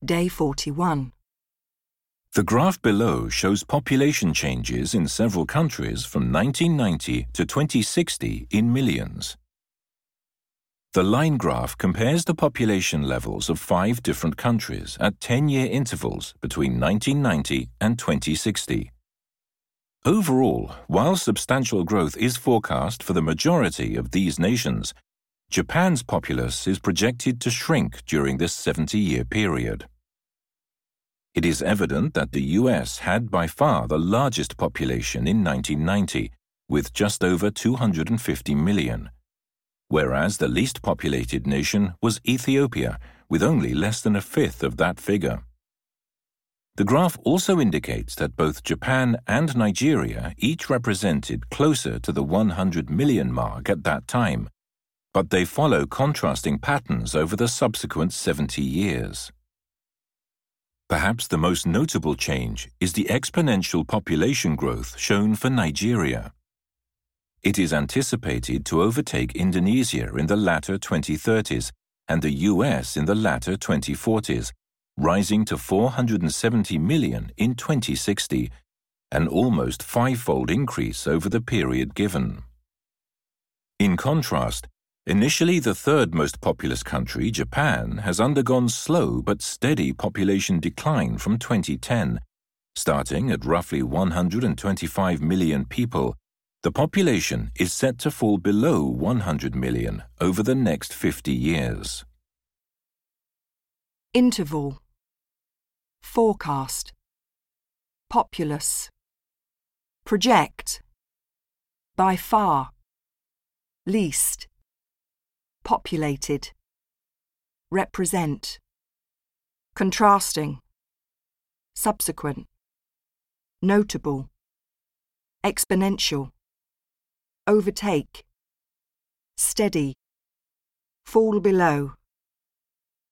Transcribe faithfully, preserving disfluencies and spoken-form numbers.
Day forty-one. The graph below shows population changes in several countries from nineteen ninety to twenty sixty in millions. The line graph compares the population levels of five different countries at ten-year intervals between nineteen ninety and twenty sixty. Overall, while substantial growth is forecast for the majority of these nations, Japan's populace is projected to shrink during this seventy-year period. It is evident that the U S had by far the largest population in nineteen ninety, with just over two hundred fifty million, whereas the least populated nation was Ethiopia, with only less than a fifth of that figure. The graph also indicates that both Japan and Nigeria each represented closer to the one hundred million mark at that time, but they follow contrasting patterns over the subsequent seventy years. Perhaps the most notable change is the exponential population growth shown for Nigeria. It is anticipated to overtake Indonesia in the latter twenty thirties and the U S in the latter twenty forties, rising to four hundred seventy million in twenty sixty, an almost five-fold increase over the period given. In contrast, initially the third most populous country, Japan, has undergone slow but steady population decline from twenty ten. Starting at roughly one hundred twenty-five million people, the population is set to fall below one hundred million over the next fifty years. Interval. Forecast. Populace. Project. By far. Least. Populated. Represent. Contrasting. Subsequent. Notable. Exponential. Overtake. Steady. Fall below.